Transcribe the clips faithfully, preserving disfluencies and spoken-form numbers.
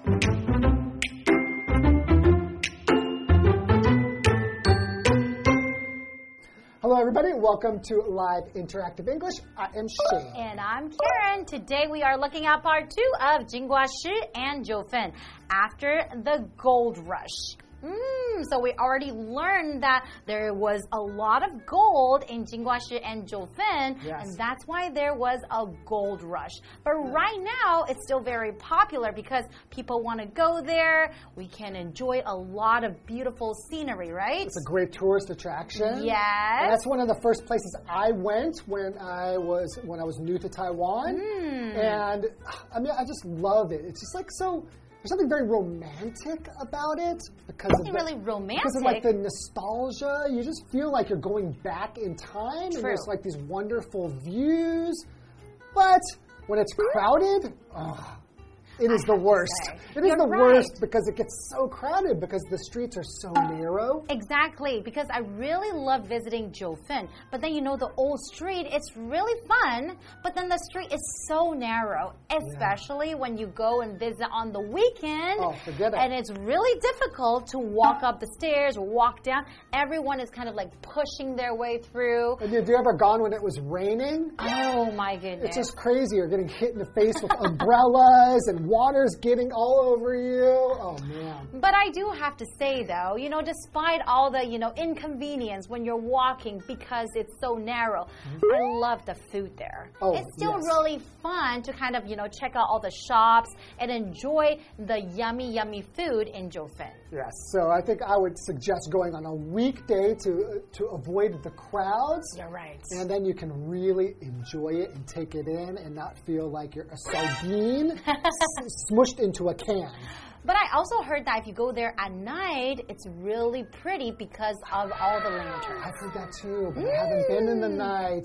Hello, everybody. Welcome to Live Interactive English. I am Shane. And I'm Karen. Today we are looking at part two of Jingguo Shi and Zhou Fen after the gold rush. Mm, so we already learned that there was a lot of gold in Jingguo Shi and Zhou Fen, yes. and that's why there was a gold rush. But right now, it's still very popular because people want to go there. We can enjoy a lot of beautiful scenery, right? It's a great tourist attraction. Yes. And that's one of the first places I went when I was when I was new to Taiwan. Mm. And I mean, I just love it. It's just like so. There's something very romantic about it because Something of the, really romantic. Because of like the nostalgia, you just feel like you're going back in time, True. and there's like these wonderful views. But when it's crowded, oh, it is I the worst. It is You're the right. worst because it gets so crowded because the streets are so narrow. Exactly, because I really love visiting Zhou Fen. But then, you know, the old street, it's really fun, but then the street is so narrow, especially yeah. when you go and visit on the weekend. Oh, forget it. And it's really difficult to walk up the stairs or walk down. Everyone is kind of like pushing their way through. And have you ever gone when it was raining? Oh, my goodness. It's just crazy. You're getting hit in the face with umbrellas and water's getting all over you. Oh, man. But I do have to say, though, you know, despite all the, you know, inconvenience when you're walking because it's so narrow, mm-hmm. I love the food there. Oh, it's still yes. really fun to kind of, you know, check out all the shops and enjoy the yummy, yummy food in Zhou Fen. Yes, so I think I would suggest going on a weekday to, to avoid the crowds. You're right. And then you can really enjoy it and take it in and not feel like you're a sardine smushed into a can. But I also heard that if you go there at night, it's really pretty because of all the lanterns. I've heard that too, but mm. I haven't been in the night.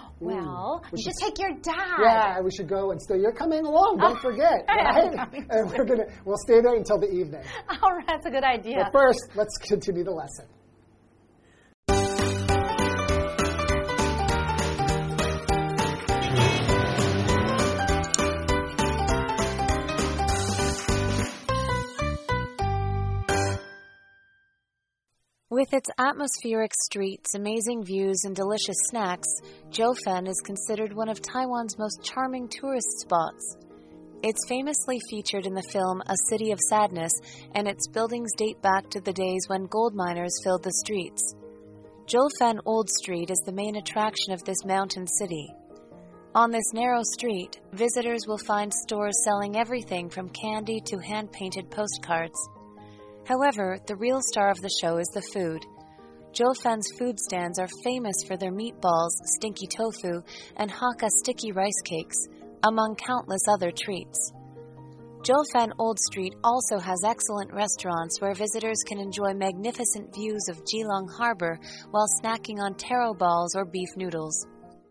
Well, we you should should take your dad. Yeah, we should go and stay. You're coming along, don't forget, right? And we're gonna we'll stay there until the evening. All right, that's a good idea. But first, let's continue the lesson. With its atmospheric streets, amazing views, and delicious snacks, Zhou Fen is considered one of Taiwan's most charming tourist spots. It's famously featured in the film A City of Sadness, and its buildings date back to the days when gold miners filled the streets. Zhou Fen Old Street is the main attraction of this mountain city. On this narrow street, visitors will find stores selling everything from candy to hand-painted postcards. However, the real star of the show is the food. Zhou Fen's food stands are famous for their meatballs, stinky tofu, and Hakka sticky rice cakes, among countless other treats. Zhou Fen Old Street also has excellent restaurants where visitors can enjoy magnificent views of Keelung Harbor while snacking on taro balls or beef noodles.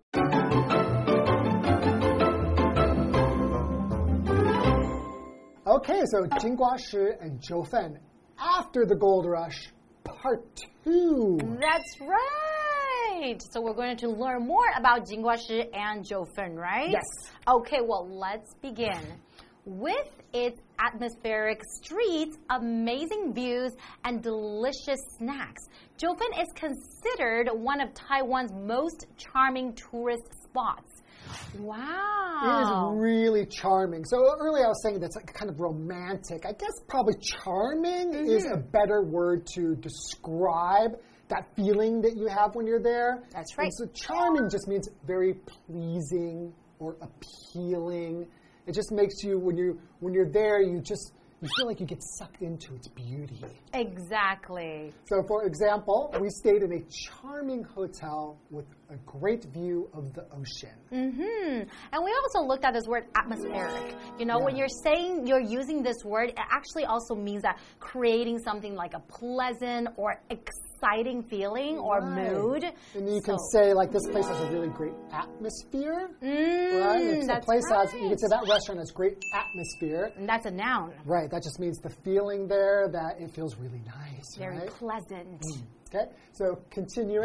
Okay, so Jingguo Shi and Zhou Fen after the gold rush, part two. That's right. So we're going to learn more about Jingguo Shi and Zhou Fen, right? Yes. Okay, well, let's begin. With its atmospheric streets, amazing views, and delicious snacks, Zhou Fen is considered one of Taiwan's most charming tourist spots. Wow. It is really charming. So earlier I was saying that's like kind of romantic. I guess probably charming mm-hmm. is a better word to describe that feeling that you have when you're there. That's right. And so charming just means very pleasing or appealing. It just makes you, when you when you're there, you just you feel like you get sucked into its beauty. Exactly. So, for example, we stayed in a charming hotel with a great view of the ocean. Mm-hmm. And we also looked at this word atmospheric. You know, yeah. when you're saying you're using this word, it actually also means that creating something like a pleasant or exciting feeling or right. mood. And you so. can say, like, this place has a really great atmosphere. Mm, right? If that's a place right. has, you can say that restaurant has great atmosphere. And that's a noun. Right. That just means the feeling there that it feels really nice. Very right? pleasant. Mm. Okay. So continuing.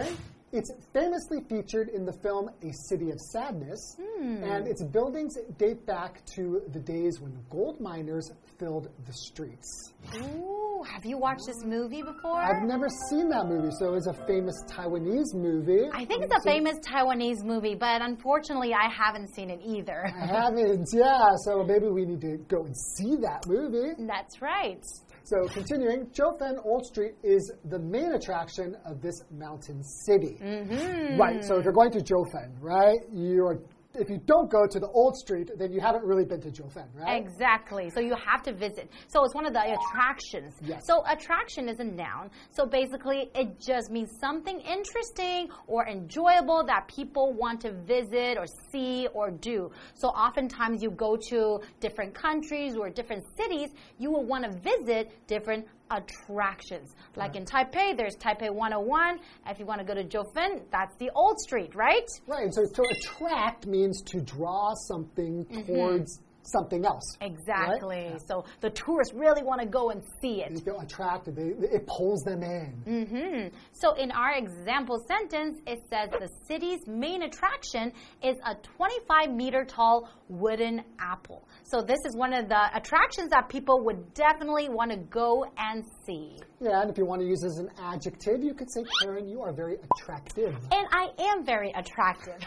It's famously featured in the film A City of Sadness, hmm. and its buildings date back to the days when gold miners filled the streets. Ooh, have you watched this movie before? I've never seen that movie, so it's a famous Taiwanese movie. I think it's a famous Taiwanese movie, but unfortunately I haven't seen it either. I haven't, yeah, so maybe we need to go and see that movie. That's right. So continuing, Jiufen Old Street is the main attraction of this mountain city. Mm-hmm. Right, so if you're going to Jiufen, right, you're if you don't go to the old street, then you haven't really been to Jiufen, right? Exactly. So you have to visit. So it's one of the attractions. Yes. So attraction is a noun. So basically, it just means something interesting or enjoyable that people want to visit or see or do. So oftentimes you go to different countries or different cities, you will want to visit different attractions. Like right. in Taipei, there's Taipei one oh one. If you want to go to Jiufen, that's the old street, right? Right. So to attract means to draw something mm-hmm. towards something else. Exactly. Right? So the tourists really want to go and see it. They feel attracted. They, it pulls them in. Mm-hmm. So in our example sentence, it says the city's main attraction is a twenty-five meter tall wooden apple. So this is one of the attractions that people would definitely want to go and see. Yeah, and if you want to use it as an adjective, you could say, Karen, you are very attractive. And I am very attractive.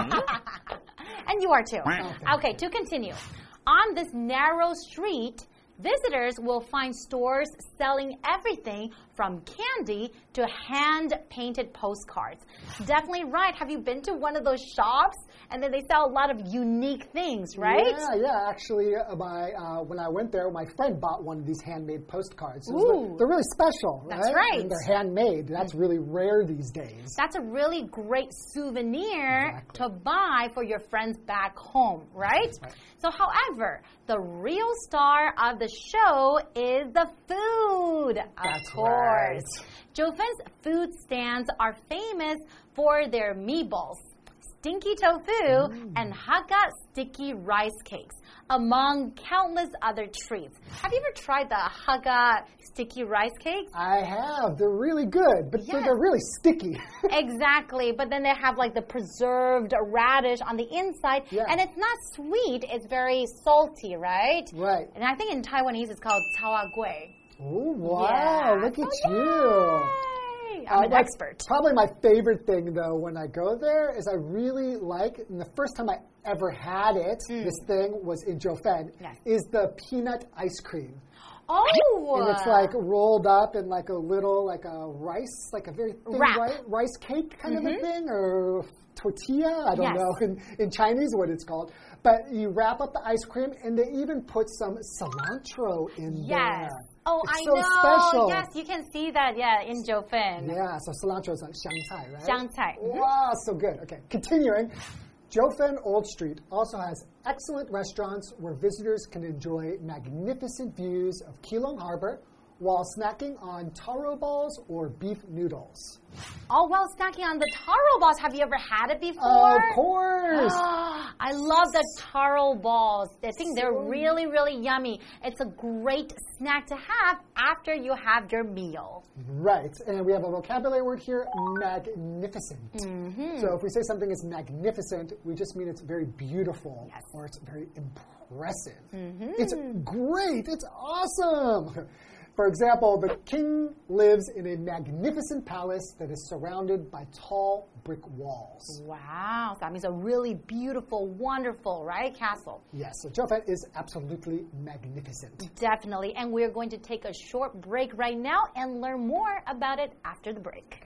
And you are too. Okay. Okay, to continue. On this narrow street, visitors will find stores selling everything from candy to hand-painted postcards. Definitely right. Have you been to one of those shops? And then they sell a lot of unique things, right? Yeah, yeah. Actually, uh, my, uh, when I went there, my friend bought one of these handmade postcards. Ooh. They're really special, right? That's right. And they're handmade. That's really rare these days. That's a really great souvenir Exactly. to buy for your friends back home, right? Right. So, however, the real star of the show is the food, of That's course. Right. Jiufen's food stands are famous for their meatballs, stinky tofu, mm. and Hakka sticky rice cakes, among countless other treats. Have you ever tried the Hakka sticky rice cakes? I have. They're really good, but Yes. they're, they're really sticky. Exactly, but then they have like the preserved radish on the inside, Yeah. and it's not sweet, it's very salty, right? Right. And I think in Taiwanese it's called caoa gui. Oh, wow. Yeah. Look at So you. yay. I'm Uh, an like, expert. Probably my favorite thing, though, when I go there is I really like, and the first time I ever had it, Mm. this thing was in Jiufen, Yes. is the peanut ice cream. Oh! And it's like rolled up in like a little, like a rice, like a very thin Wrap. ri rice cake kind mm-hmm. of a thing, or tortilla. I don't Yes. know in, in Chinese what it's called. But you wrap up the ice cream, and they even put some cilantro in Yes. there. Oh, it's I so know. special. Yes, you can see that, yeah, in Jiufen. Yeah, so cilantro is like xiangcai, right? Xiangcai. Mhm. Wow, so good. Okay, continuing. Jiufen Old Street also has excellent restaurants where visitors can enjoy magnificent views of Keelung Harbor while snacking on taro balls or beef noodles. Oh, well, snacking on the taro balls. Have you ever had it before? Of course. I love the taro balls. I think they're really, really yummy. It's a great snack to have after you have your meal. Right. And we have a vocabulary word here, magnificent. Mm-hmm. So if we say something is magnificent, we just mean it's very beautiful Yes. or it's very impressive. Mm-hmm. It's great. It's awesome. For example, the king lives in a magnificent palace that is surrounded by tall brick walls. Wow. So that means a really beautiful, wonderful, right, castle. Yes, so Jiufen is absolutely magnificent. Definitely. And we're going to take a short break right now and learn more about it after the break.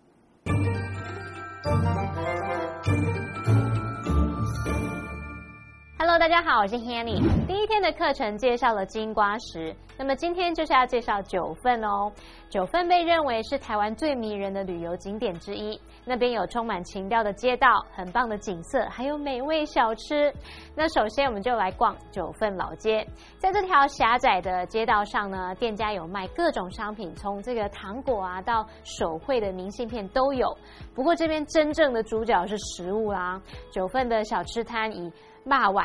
Hello， 大家好，我是 Hanny。第一天的課程介紹了金瓜石，那麼今天就是要介紹九份哦。九份被認為是台灣最迷人的旅遊景點之一，那邊有充滿情調的街道、很棒的景色，還有美味小吃。那首先我們就來逛九份老街，在這條狹窄的街道上呢，店家有賣各種商品，從這個糖果啊到手繪的明信片都有。不過這邊真正的主角是食物啦，九份的小吃攤以肉圓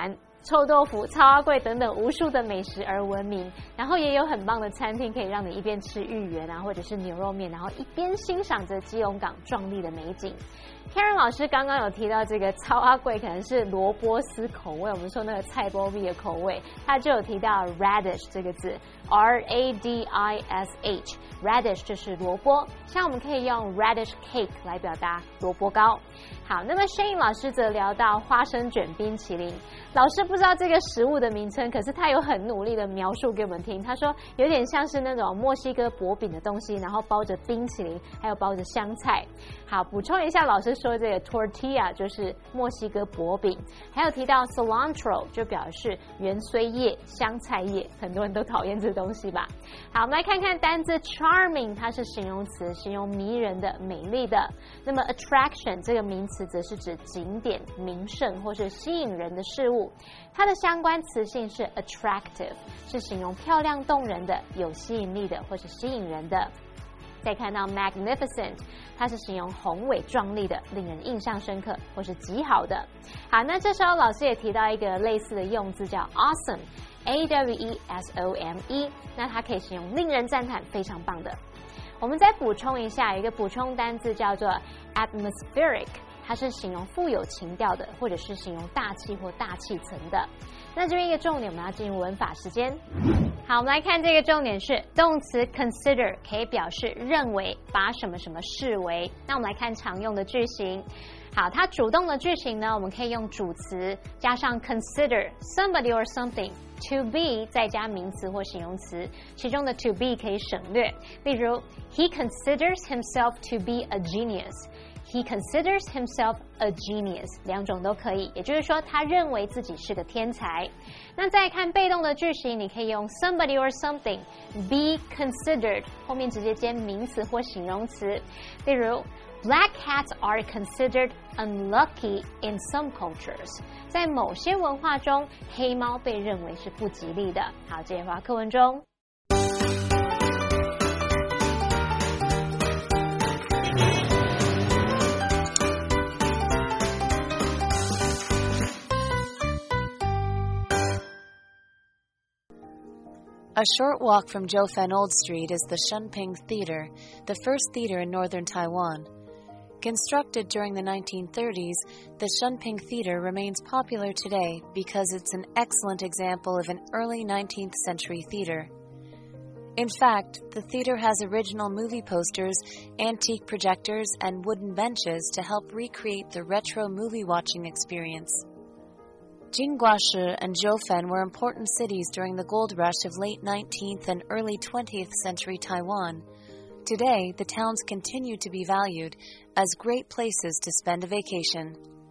臭豆腐、超阿貴等等無數的美食而聞名，然後也有很棒的餐廳可以讓你一邊吃芋圓啊，或者是牛肉麵，然後一邊欣賞着基隆港壯麗的美景。Karen 老師剛剛有提到這個超阿貴可能是蘿蔔絲口味，我們說那個菜包米的口味，他就有提到 radish 這個字 ，R A D I S H，radish 就是蘿蔔，像我們可以用 radish cake 來表達蘿蔔糕。好，那麼 Shane 老師則聊到花生卷冰淇淋，老師不知道這個食物的名稱，可是他有很努力的描述給我們聽，他說有點像是那種墨西哥薄餅的東西，然後包着冰淇淋，還有包着香菜。好，補充一下，老師說這個 tortilla 就是墨西哥薄餅，還有提到 cilantro 就表示芫荽葉、香菜葉，很多人都討厭這東西吧。好，我們來看看單字 charming， 它是形容詞，形容迷人的、美麗的。那麼 attraction 這個名詞則是指景點、名勝或是吸引人的事物，它的相關詞性是 attractive， 是形容漂亮动人的、有吸引力的或是吸引人的。再看到 magnificent， 它是形容宏偉壯麗的，令人印象深刻或是極好的。好，那這時候老師也提到一個類似的用字叫 awesome，A W E S O M E， 那它可以形容令人讚嘆、非常棒的。我們再補充一下，有一個補充單字叫做 atmospheric， 它是形容富有情調的，或者是形容大氣或大气层的。那這邊一個重點，我們要進入文法時間。好，我們來看這個重點是動詞 consider 可以表示認為，把什麼什麼視為。那我們來看常用的句型。好，它主動的句型呢，我們可以用主詞加上 consider somebody or something， to be 再加名詞或形容詞，其中的 to be 可以省略。例如 He considers himself to be a genius。He considers himself a genius， 两種都可以，也就是說他認為自己是個天才。那再看被動的句型，你可以用 somebody or something be considered， 後面直接接名詞或形容詞。例如 Black cats are considered unlucky in some cultures， 在某些文化中，黑貓被認為是不吉利的。好，這些話課文中。 A short walk from Jiufen Old Street is the Shunping Theater, the first theater in northern Taiwan. Constructed during the nineteen thirties, the Shunping Theater remains popular today because it's an excellent example of an early nineteenth century theater. In fact, the theater has original movie posters, antique projectors, and wooden benches to help recreate the retro movie-watching experience. Jingguashi and Jiufen were important cities during the gold rush of late nineteenth and early twentieth century Taiwan. Today, the towns continue to be valued as great places to spend a vacation.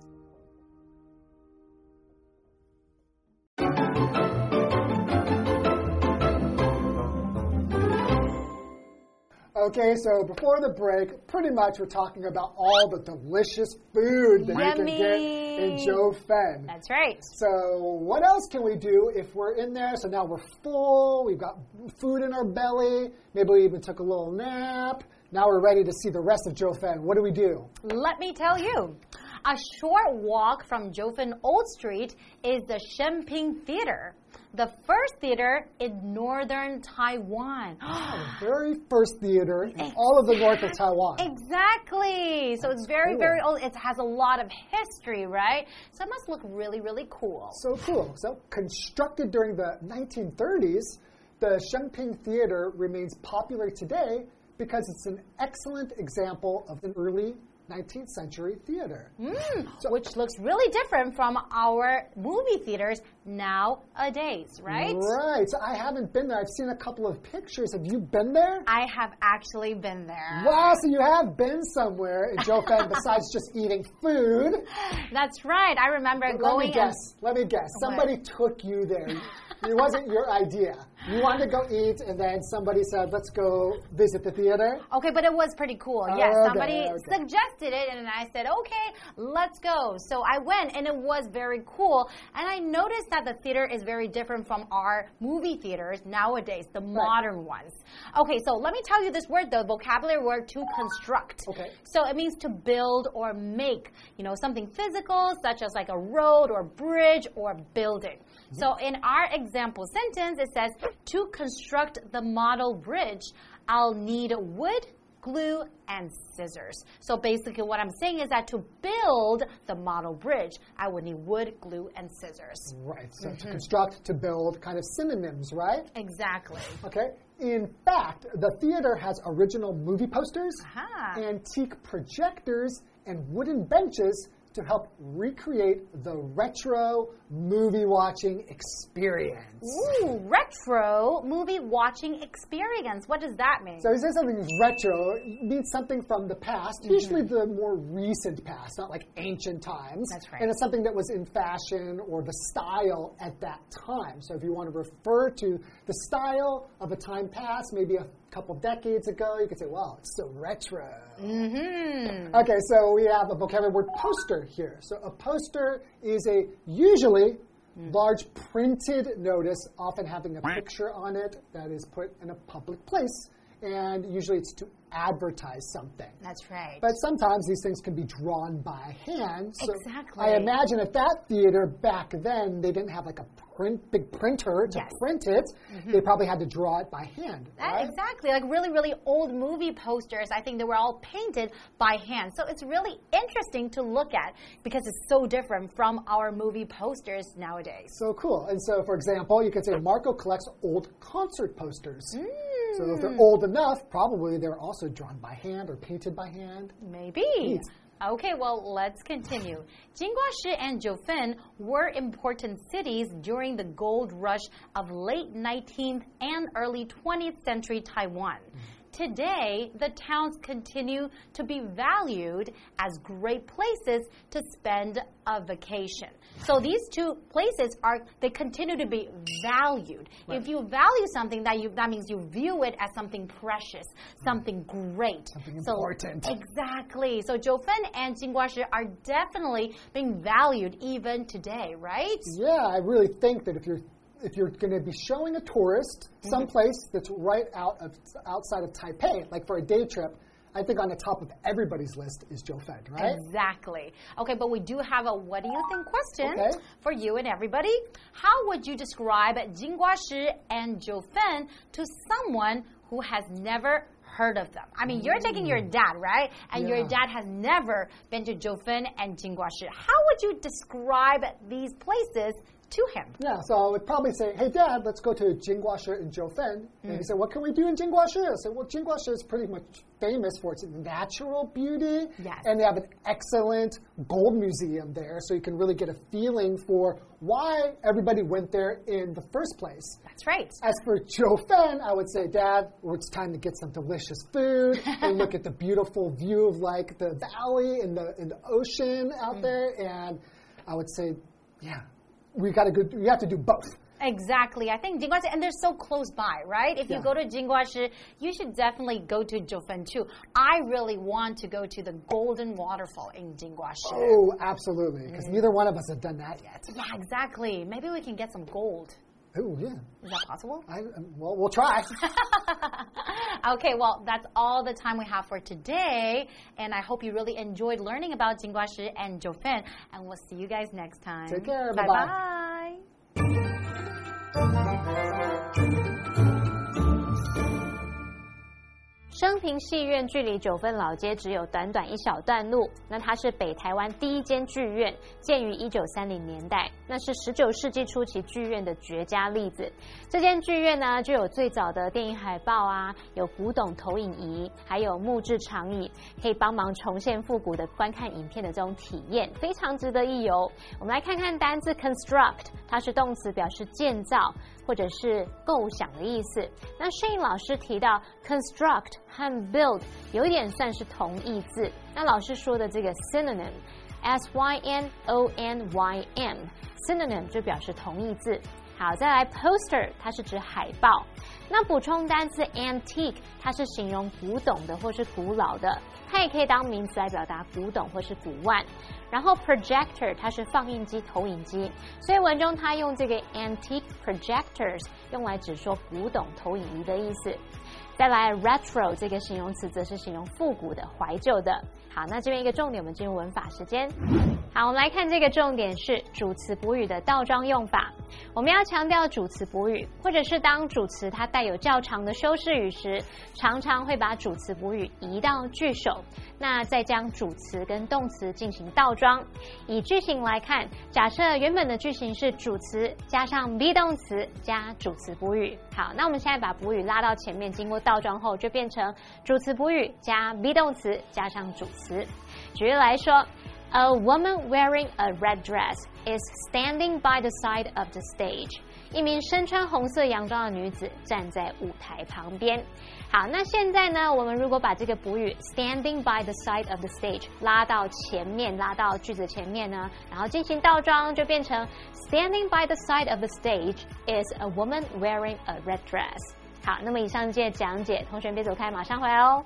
Okay, so before the break, pretty much we're talking about all the delicious food that Yummy. you can get in Jiufen. That's right. So what else can we do if we're in there? So now we're full, we've got food in our belly, maybe we even took a little nap. Now we're ready to see the rest of Jiufen. What do we do? Let me tell you. A short walk from Jiufen Old Street is the Shunping Theater, the first theater in northern Taiwan. The very first theater in exactly. all of the north of Taiwan. Exactly. So it's very, cool. very old. It has a lot of history, right? So it must look really, really cool. So cool. So constructed during the nineteen thirties, the Shunping Theater remains popular today because it's an excellent example of an early nineteenth century theater. Mm, so, which looks really different from our movie theaters nowadays, right? Right. So I haven't been there. I've seen a couple of pictures. Have you been there? I have actually been there. Wow, so you have been somewhere in Jiufen besides just eating food. That's right. I remember but going. Let me guess. Let me guess. Somebody what? took you there. It wasn't your idea. You wanted to go eat, and then somebody said, let's go visit the theater? Okay, but it was pretty cool. Yes, okay, somebody okay. suggested it, and I said, okay, let's go. So I went, and it was very cool. And I noticed that the theater is very different from our movie theaters nowadays, the modern right. ones. Okay, so let me tell you this word, though, vocabulary word to construct. Okay. So it means to build or make, you know, something physical, such as like a road or bridge or building. Mm-hmm. So in our example sentence, it says, to construct the model bridge, I'll need wood, glue, and scissors. So basically what I'm saying is that to build the model bridge, I would need wood, glue, and scissors. Right. So mm-hmm. to construct, to build, kind of synonyms, right? Exactly. Okay. In fact, the theater has original movie posters, Aha. antique projectors, and wooden benches to help recreate the retro movie watching experience. Ooh, retro movie watching experience. What does that mean? So, he says something is retro, it means something from the past, mm-hmm. usually the more recent past, not like ancient times. That's right. And it's something that was in fashion or the style at that time. So, if you want to refer to the style of a time past, maybe a couple decades ago, you could say, wow, it's so retro. Mm-hmm. Okay, so we have a vocabulary word poster here. So a poster is a usually mm. large printed notice, often having a picture on it that is put in a public place. And usually it's to advertise something. That's right. But sometimes these things can be drawn by hand. So exactly. I imagine at that theater back then, they didn't have like a print, big printer to yes. print it. Mm-hmm. They probably had to draw it by hand. That, right? Exactly. Like really, really old movie posters, I think they were all painted by hand. So it's really interesting to look at because it's so different from our movie posters nowadays. So cool. And so, for example, you could say Marco collects old concert posters. Mm. So if they're old enough, probably they're also drawn by hand or painted by hand. Maybe. Neat. Okay, well, let's continue. Jinguashi and Jiufen were important cities during the gold rush of late nineteenth and early twentieth century Taiwan. Mm. Today, the towns continue to be valued as great places to spend a vacation. So these two places are, they continue to be valued. Right. If you value something, that you that means you view it as something precious, something great. Something so, important. Exactly. So Jiufen and Jinguashi are definitely being valued even today, right? Yeah, I really think that if you're If you're going to be showing a tourist someplace mm-hmm. that's right out of outside of Taipei, like for a day trip, I think on the top of everybody's list is Jiufen, right? Exactly. Okay, but we do have a what do you think question okay. for you and everybody. How would you describe Jinguashi and Jiufen to someone who has never heard of them? I mean, you're taking your dad, right? And yeah. your dad has never been to Jiufen and Jinguashi. How would you describe these places to him? Yeah, so I would probably say, hey, Dad, let's go to Jinguashi and Jiufen. Mm. And he said, what can we do in Jinguashi? I said, well, Jinguashi is pretty much famous for its natural beauty. Yes. And they have an excellent gold museum there, so you can really get a feeling for why everybody went there in the first place. That's right. As for Jiufen, I would say, Dad, well, it's time to get some delicious food and look at the beautiful view of like the valley and the, and the ocean out mm. there. And I would say, yeah. We got to go. We have to do both. Exactly. I think Jinguashi, and they're so close by, right? If you yeah. go to Jinguashi, you should definitely go to Jiufen too. I really want to go to the Golden Waterfall in Jinguashi. Oh, absolutely. Because mm. neither one of us have done that yet. Yeah, exactly. Maybe we can get some gold. Oh, yeah. Is that possible? I, well, we'll try. Okay, well, that's all the time we have for today. And I hope you really enjoyed learning about Jinguashi and Jiufen. And we'll see you guys next time. Take care. Bye-bye. Bye-bye. 升平戲院距離九份老街只有短短一小段路，那它是北台湾第一間劇院，建於一九三零年代，那是十九世紀初期劇院的絕佳例子。這間劇院呢，就有最早的電影海報啊，有古董投影儀，還有木質長椅，可以幫忙重現復古的觀看影片的這種體驗，非常值得一遊。我們來看看單字 construct， 它是動詞，表示建造或者是構想的意思。那Shane老師提到 construct 和 build 有一點算是同義字，那老師說的這個 synonym S Y N O N Y M synonym 就表示同義字。 好，再來 poster， 它是指海報。那補充單詞 antique， 它是形容古董的或是古老的，它也可以當名詞來表達古董或是古玩。然後 projector 它是放映機、投影機，所以文中它用這個 antique projectors 用來指說古董投影儀的意思。再來 retro 這個形容詞則是形容復古的、懷舊的。好，那這邊一個重點，我們進入文法時間。好，我們來看這個重點是主詞補語的倒裝用法。我們要強調主詞補語，或者是當主詞它帶有較長的修飾語時，常常會把主詞補語移到句首，那再將主詞跟動詞進行倒裝。以句型來看，假設原本的句型是主詞加上 be 動詞加主詞補語。好，那我們現在把補語拉到前面，經過倒裝後就變成主詞補語加 be 動詞加上主詞。舉例來說， A woman wearing a red dress is standing by the side of the stage. 一名身穿紅色洋裝的女子站在舞台旁邊。好，那現在呢，我们如果把這個補語 standing by the side of the stage 拉到前面，拉到句子前面呢，然後進行倒裝，就變成 standing by the side of the stage is a woman wearing a red dress. 好，那麼以上這些講解，同學別走開，馬上回來哦。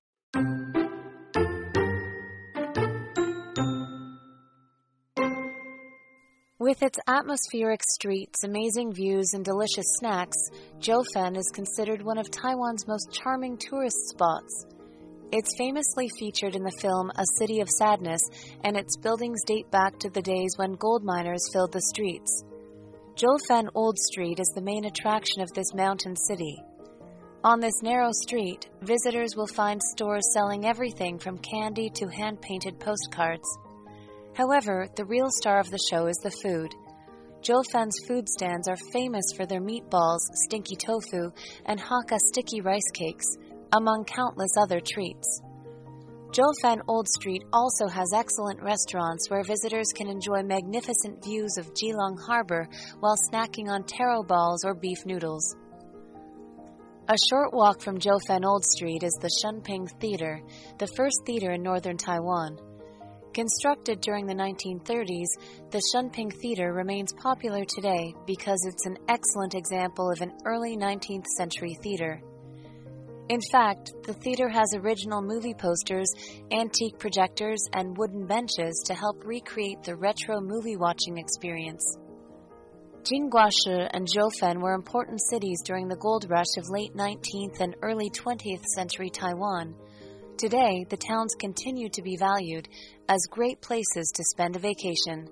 With its atmospheric streets, amazing views, and delicious snacks, Jiufen is considered one of Taiwan's most charming tourist spots. It's famously featured in the film A City of Sadness, and its buildings date back to the days when gold miners filled the streets. Jiufen Old Street is the main attraction of this mountain city. On this narrow street, visitors will find stores selling everything from candy to hand-painted postcards. However, the real star of the show is the food. Jiufen's food stands are famous for their meatballs, stinky tofu, and Hakka sticky rice cakes, among countless other treats. Jiufen Old Street also has excellent restaurants where visitors can enjoy magnificent views of Keelung Harbor while snacking on taro balls or beef noodles. A short walk from Jiufen Old Street is the Shunping Theater, the first theater in northern Taiwan. Constructed during the nineteen thirties, the Shunping Theater remains popular today because it's an excellent example of an early nineteenth century theater. In fact, the theater has original movie posters, antique projectors, and wooden benches to help recreate the retro movie-watching experience. Jingguashi and Jiufen were important cities during the gold rush of late nineteenth and early twentieth century Taiwan. Today, the towns continue to be valued as great places to spend a vacation.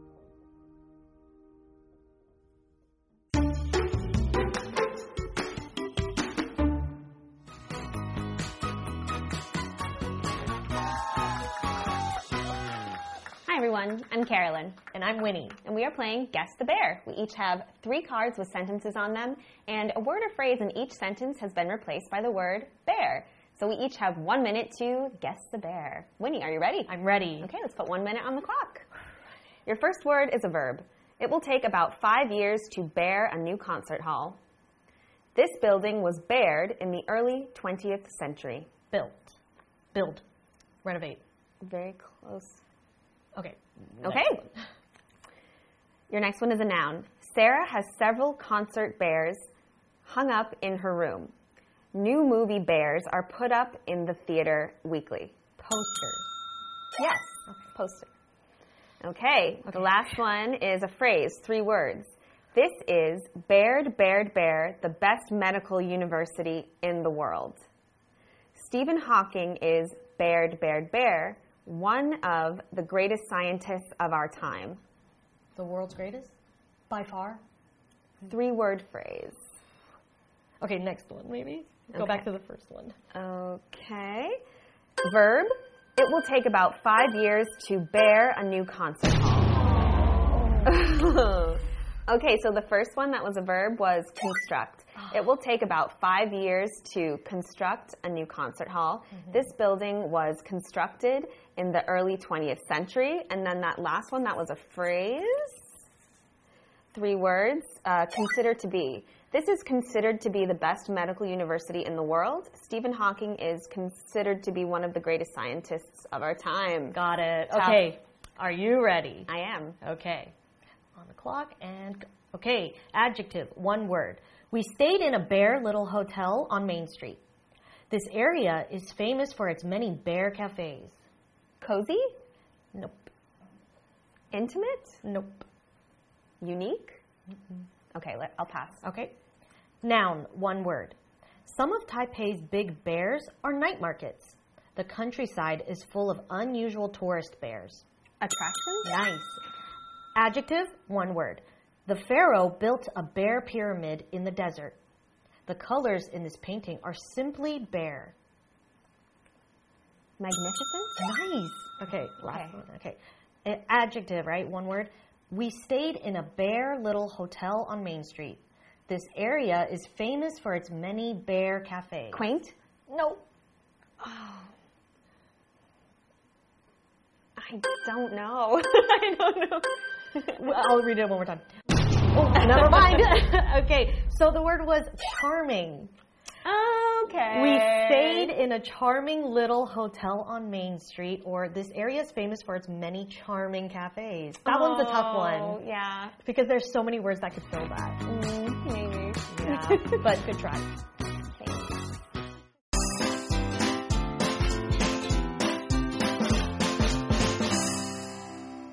Hi everyone, I'm Carolyn. And I'm Winnie. And we are playing Guess the Bear. We each have three cards with sentences on them, and a word or phrase in each sentence has been replaced by the word bear. So we each have one minute to guess the bear. Winnie, are you ready? I'm ready. Okay, let's put one minute on the clock. Your first word is a verb. It will take about five years to bear a new concert hall. This building was bared in the early twentieth century. Built. Build. Renovate. Very close. Okay. Okay. Your next one is a noun. Sarah has several concert bears hung up in her room. New movie bears are put up in the theater weekly. Poster. Yes, okay. Poster. Okay, okay, the last one is a phrase, three words. This is Baird, Baird, Bear, the best medical university in the world. Stephen Hawking is Baird, Baird, Bear, one of the greatest scientists of our time. The world's greatest? By far? Three-word phrase. Okay, next one, maybe. Go okay. back to the first one. Okay. Verb. It will take about five years to bear a new concert hall. Okay, so the first one that was a verb was construct. It will take about five years to construct a new concert hall. Mm-hmm. This building was constructed in the early twentieth century. And then that last one, that was a phrase. Three words. Uh, consider to be. This is considered to be the best medical university in the world. Stephen Hawking is considered to be one of the greatest scientists of our time. Got it. Okay. Are you ready? I am. Okay. On the clock and go. Okay, adjective, one word. We stayed in a bare little hotel on Main Street. This area is famous for its many bare cafes. Cozy? Nope. Intimate? Nope. Unique? Mm-hmm. Okay, let, I'll pass. Okay. Noun, one word. Some of Taipei's big bears are night markets. The countryside is full of unusual tourist bears. Attractions? Nice. Adjective, one word. The pharaoh built a bear pyramid in the desert. The colors in this painting are simply bare. Magnificent? Nice. Okay, last Okay. one. Okay. A- Adjective, right? One word. We stayed in a bare little hotel on Main Street. This area is famous for its many bare cafes. Quaint? No. I don't know. I don't know. Well, I'll read it one more time. Oh, never mind. Okay, so the word was charming. Okay. We stayed in a charming little hotel on Main Street, or this area is famous for its many charming cafes. That one's a tough one. Oh, yeah. Because there's so many words that could fill that. Mm, maybe. Yeah, but good try.